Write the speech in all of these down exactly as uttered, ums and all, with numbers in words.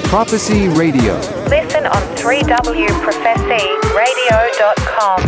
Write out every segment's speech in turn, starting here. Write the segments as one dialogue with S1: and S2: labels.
S1: Prophecy Radio.
S2: Listen on three w prophecy radio dot com.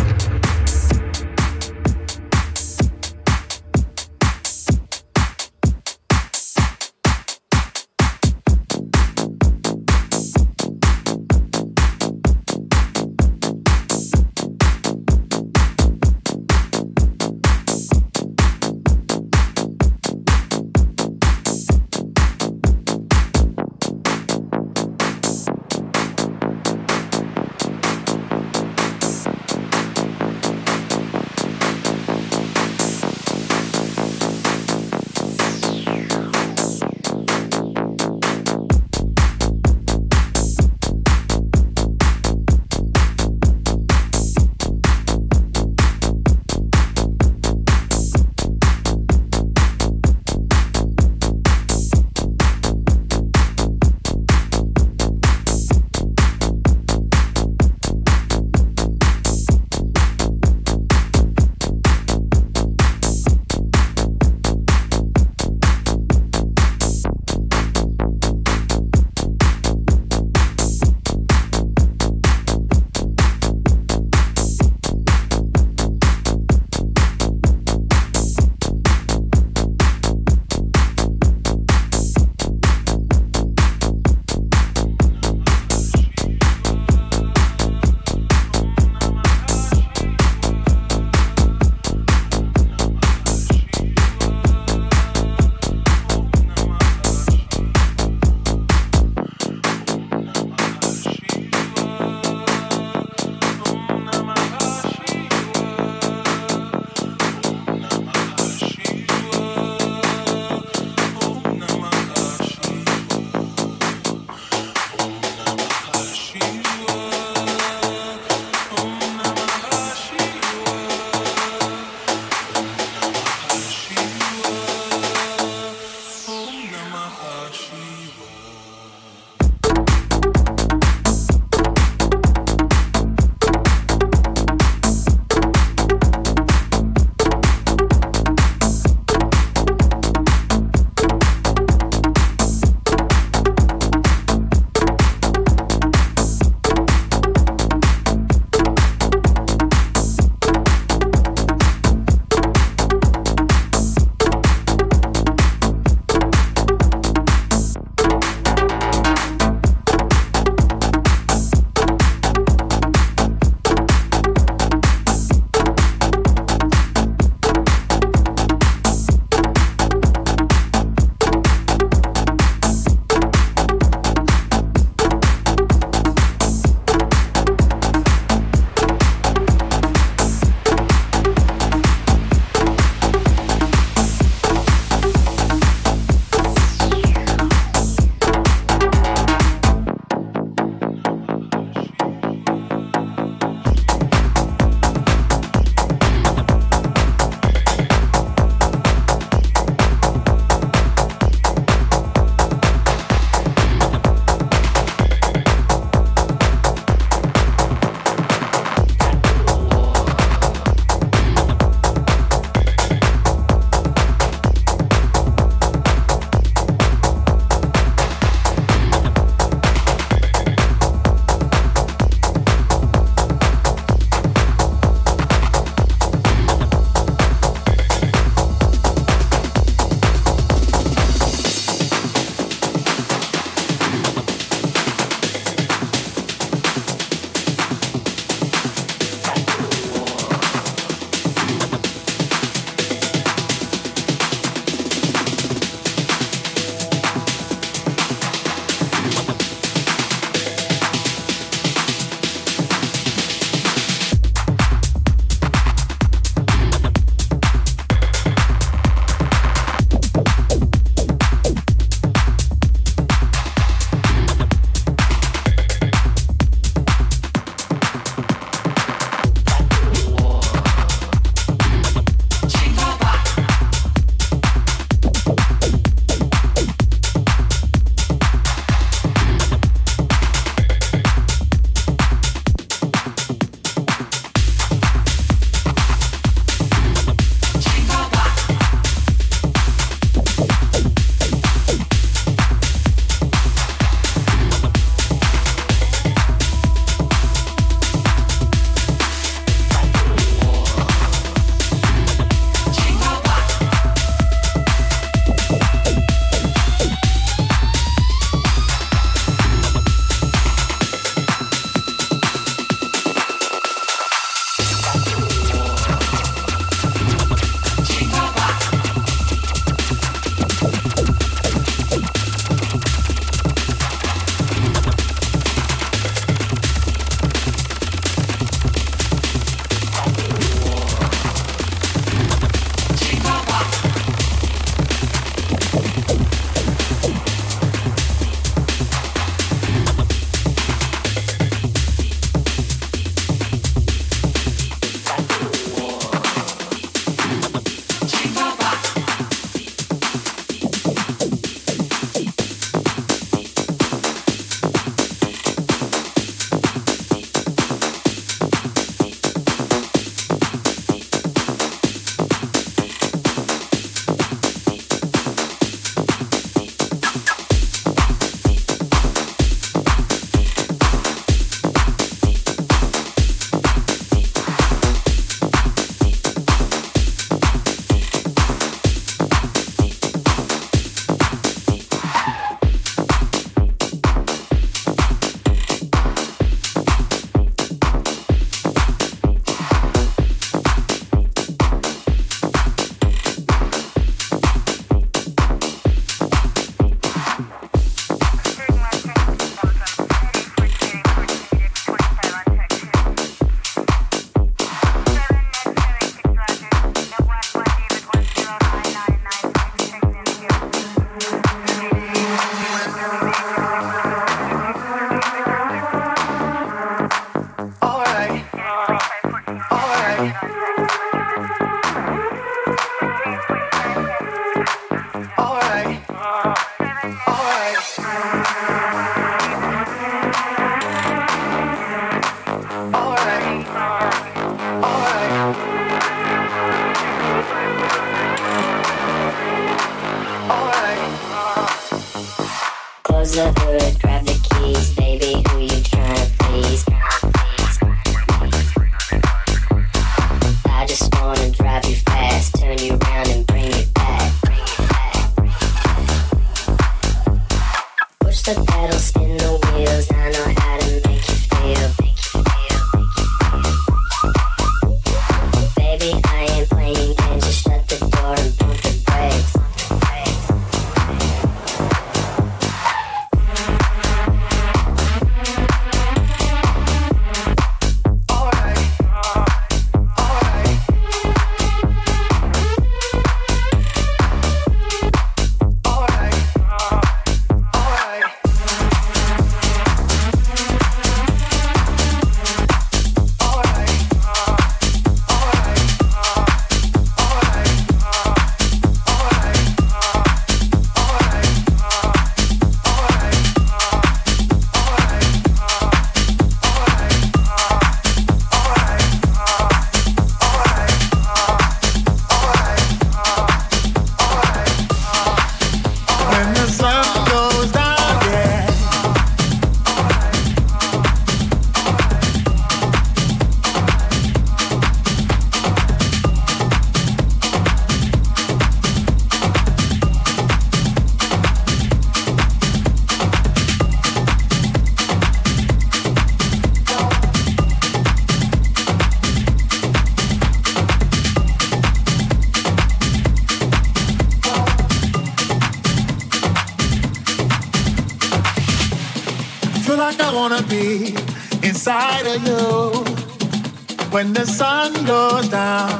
S1: When the sun goes down,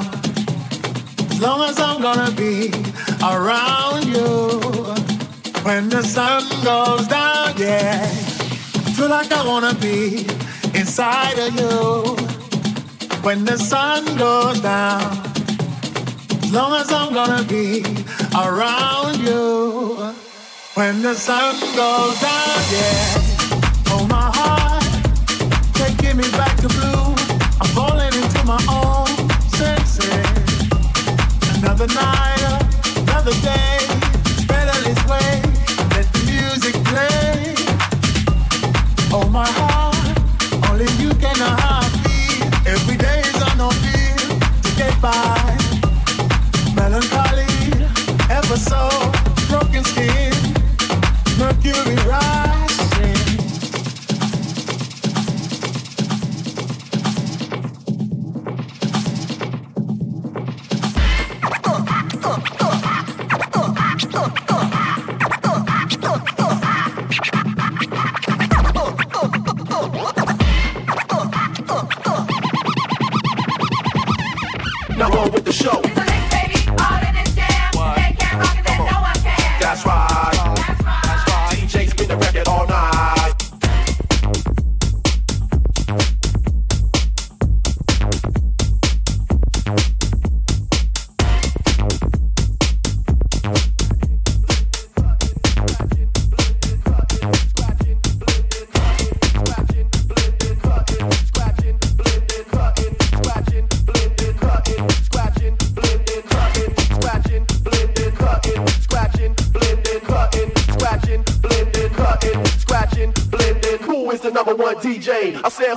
S1: as long as I'm gonna be around you. When the sun goes down, yeah, I feel like I wanna be inside of you. When the sun goes down, as long as I'm gonna be around you. When the sun goes down, yeah, oh my heart, taking me back to blue. I'm falling into my own senses. Another night, another day. It's better this way. Let the music play. Oh my heart, only you can know how I feel. Every day is on no feel to get by. Melancholy, ever so broken skin. Mercury rising.
S3: Now on with the show.
S4: It's a mix, baby, all in this jam.
S3: What?
S4: They can't rock it, then no one can.
S3: That's right.
S4: That's right.
S3: D J spin the record all night. Number one D J. I said.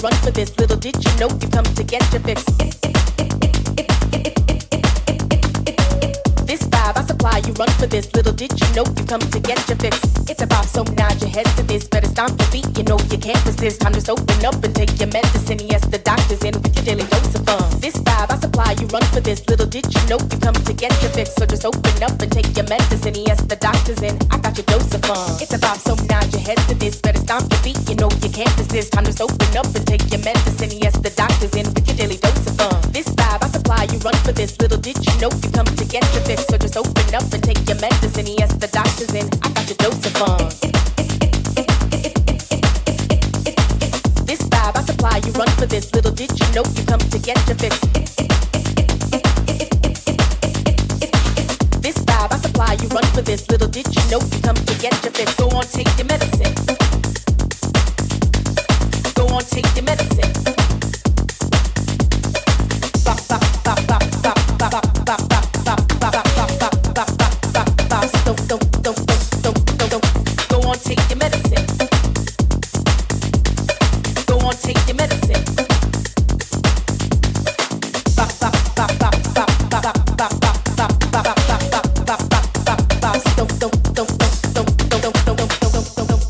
S5: run for this. Little did you know you come to get your fix. This vibe I supply, you run for this. Little did you know you come to get your fix. It's a pop, so nod your head to this. Better stomp your feet, you know you can't resist. Time to just open up and take your medicine. Yes, the doctor's in with your daily dose of fun. This vibe I supply, you run for this. Little did you know you come to get your fix. So just open up and take your medicine. Yes, the doctor's in. I got your dose of fun. It's a pop, so nod your head to this. Better stomp your feet, you know you can't resist. Time to just open up and take your medicine. Yes, the doctor's in with your daily dose of fun. This vibe I supply, you run for this. Little did you know you come to get your fix. So just open up and take your medicine. Yes, the doctor's in. I got your dose of fun. This vibe I supply, you run for this. Little did you know you come to get your fix. This vibe I supply, you run for this. Little did you know you come to get your fix. Go on, take your medicine. Go on, take your medicine. Bop, bop, bop, bop, bop, bop, bop, bop, bop, bop, bop, bop, bop, bop, bop, bop. Don't, don't, don't, don't, don't, don't, don't. Go on, take your medicine. Go on, take your medicine. Bop, bop, bop, bop, bop, bop, bop, bop, bop, bop, bop, bop, bop, bop, bop, bop. Don't, don't, don't, don't, don't, don't, don't, don't, don't, don't, don't, don't.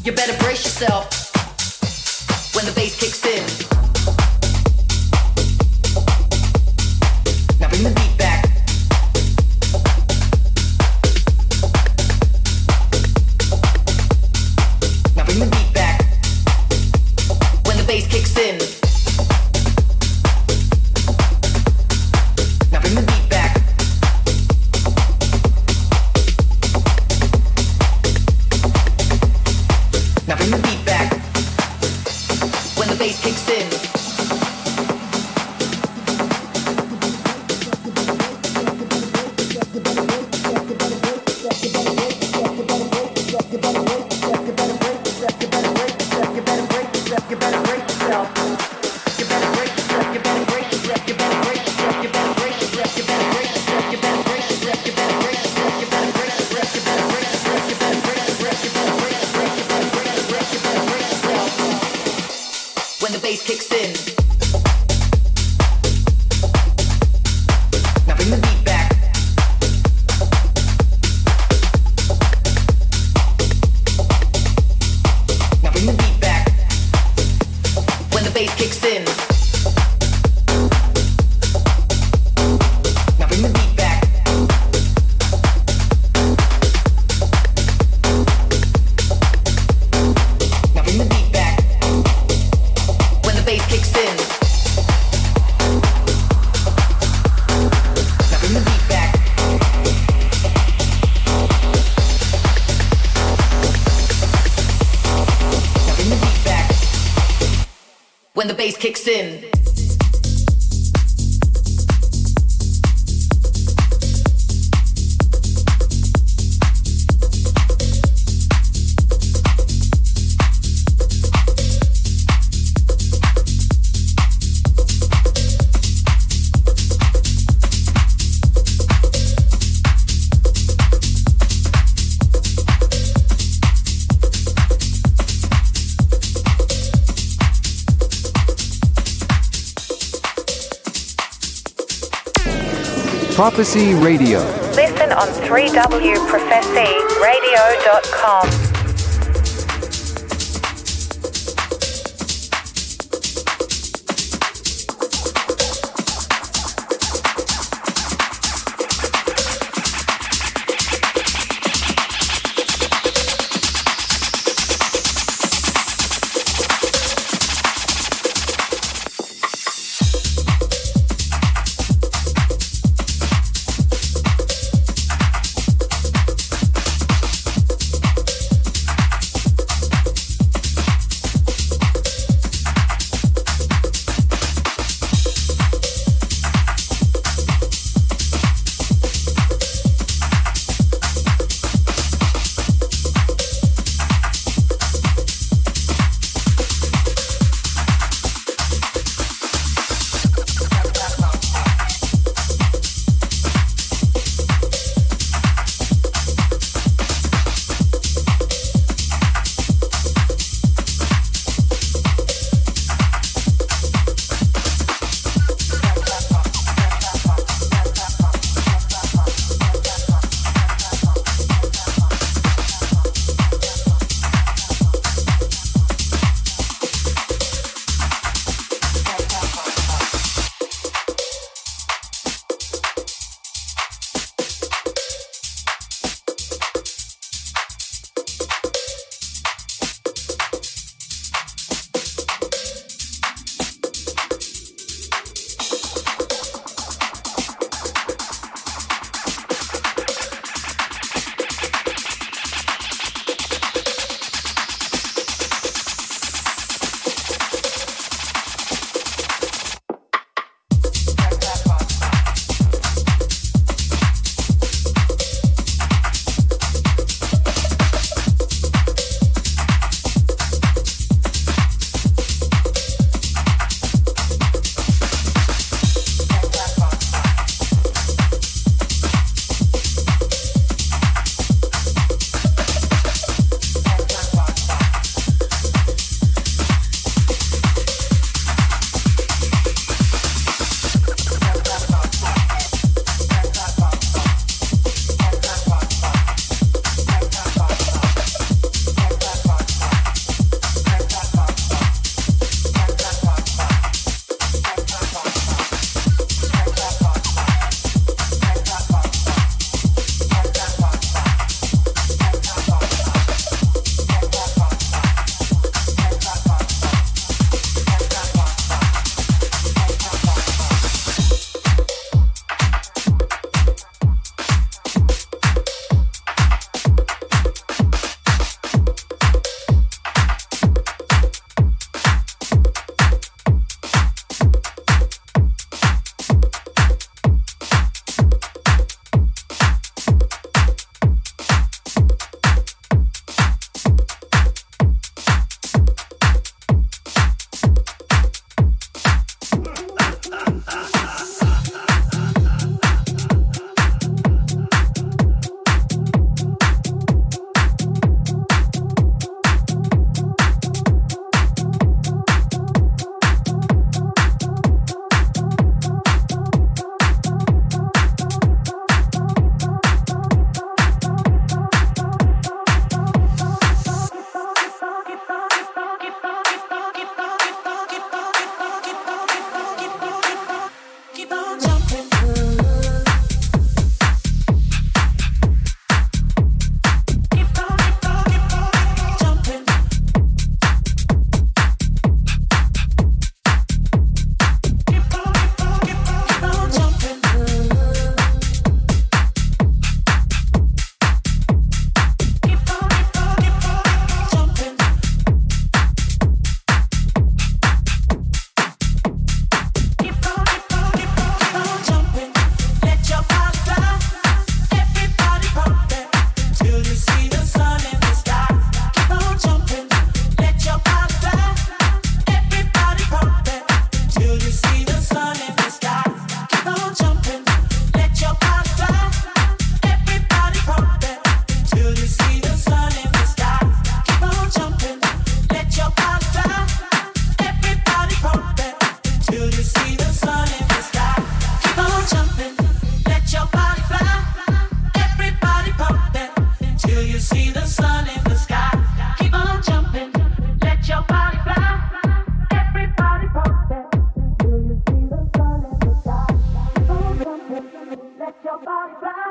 S6: You better brace yourself when the bass kicks in. Now bring the beat back. Now bring the beat back when the bass kicks in. Now bring the beat back. Now bring the beat back when the bass kicks in. When the bass kicks in. Now bring the beat back. Now bring the beat back. When the bass kicks in. Now bring the beat back. Now bring the beat back. When the bass kicks in. Now bring the beat back. Now bring the beat back. When the bass kicks in.
S7: Prophecy Radio.
S2: Listen on three w prophecy radio dot com.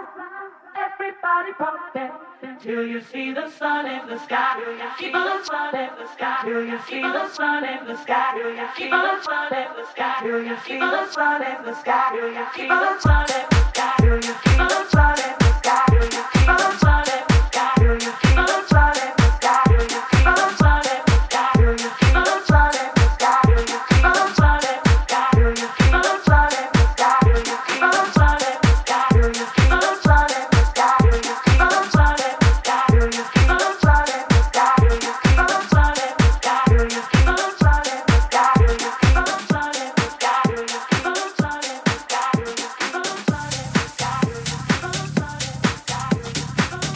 S7: Everybody pump it till you see the sun in the sky. Keep on sun in the sky till you see the sun in the sky. Keep on sun in the sky till you see the sun in the sky. Keep on sun in the sky till you see the sun in the sky. Keep on sun in the sky till you see the sun in the sky. Keep on sun in the sky till you see the sun in the sky. Keep on sun in the sky till you see the sun in the sky. Keep on sun in the sky till you see the sun in the sky. Keep on sun in the sky till you see the sun in the sky. Keep on sun in the sky till you see the sun in the sky. Keep on sun in the sky till you keep on sun in the sky. Keep on sun in the sky. Keep on sun in the sky.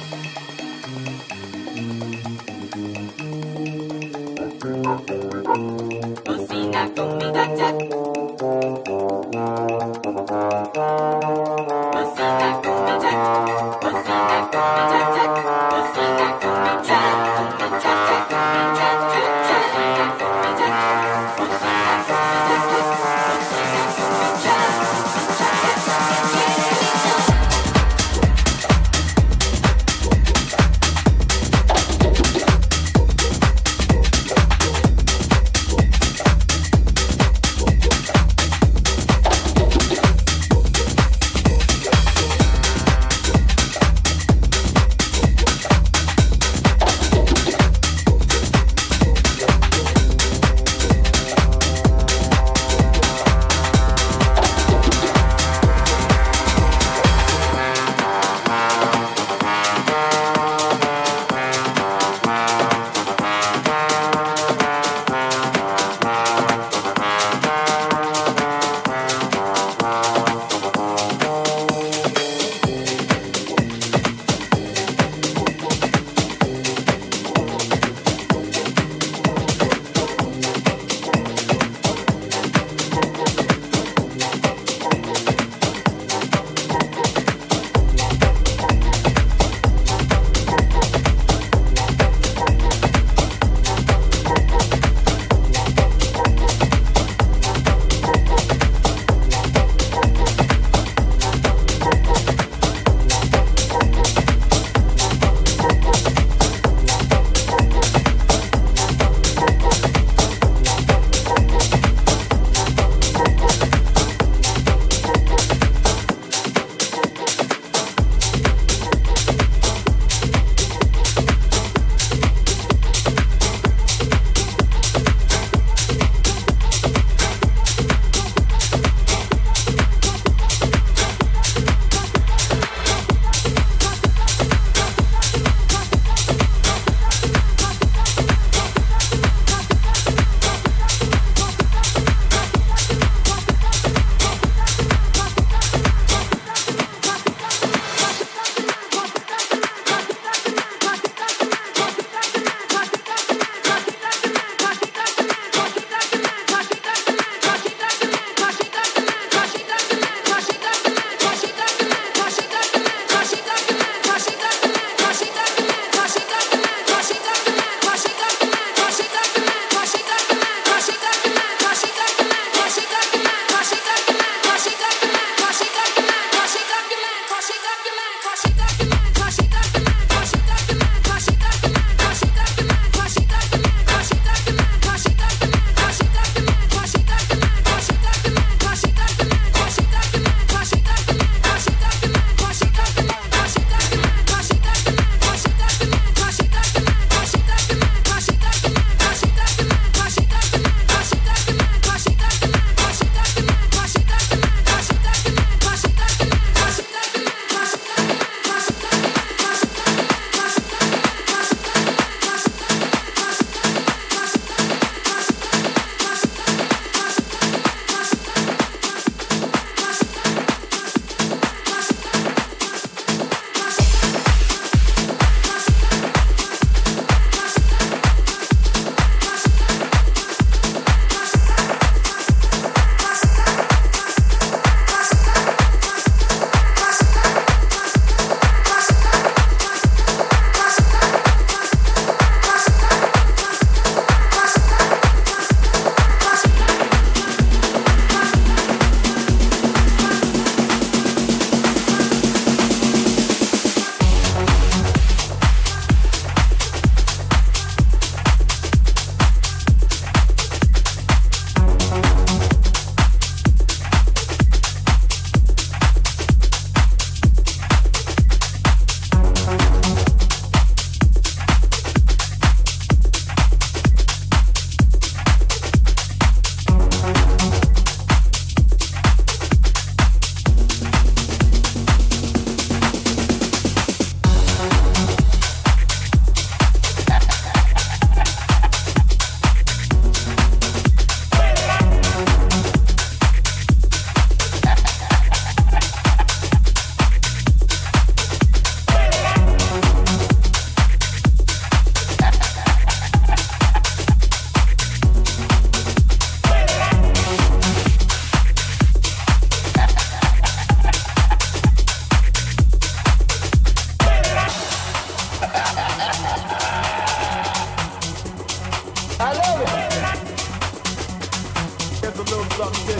S8: Cocina con mi gacha. Cocina con mi cha. Cocina con mi cha cha. Cocina con mi cha. Con mi cha cha. Con mi cha cha cha. Cocina con mi cha. Cocina con mi cha cha. Cocina con mi cha. Con mi cha cha.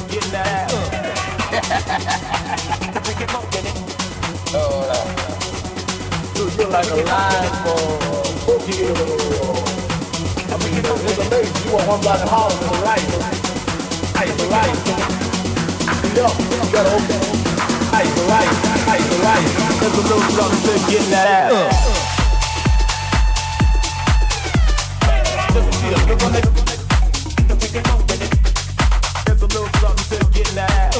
S9: getting that. Oh, you're like a lion for you. I mean, it's amazing. You want one block and holler to the right. Right, the right. Yo, you gotta open. Right, the right. Right, the right. There's a little something to getting that ass. Just a feel. Look on it. There's a little something to getting that ass.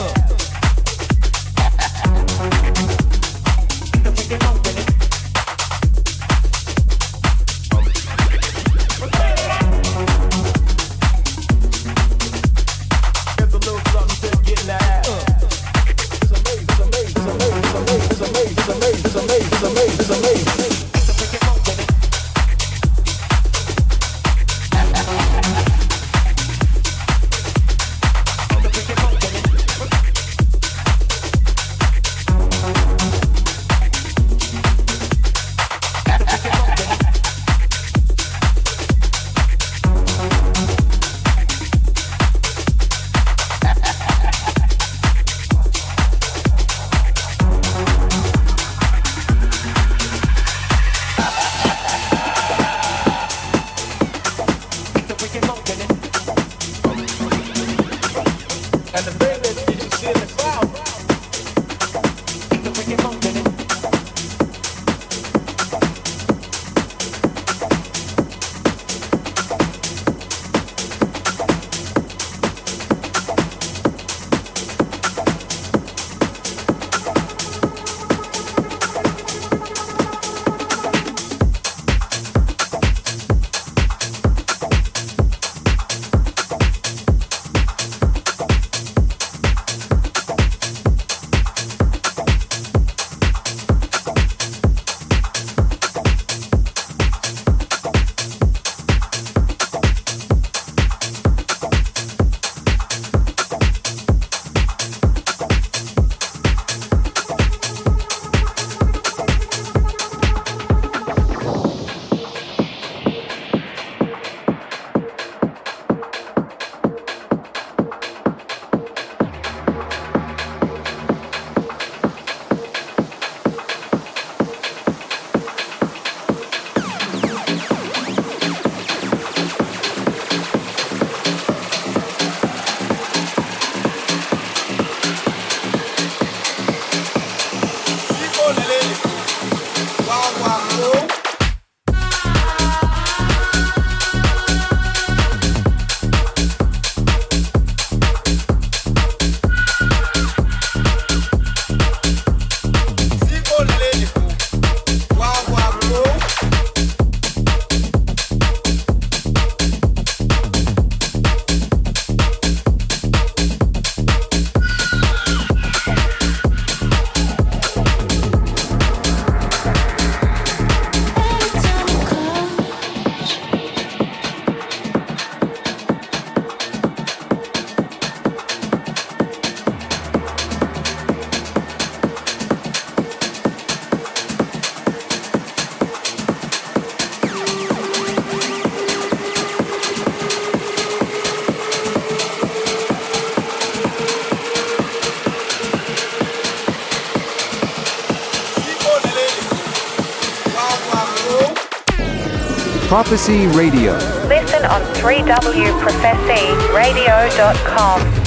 S10: Prophecy Radio.
S2: Listen on three w prophecy radio dot com.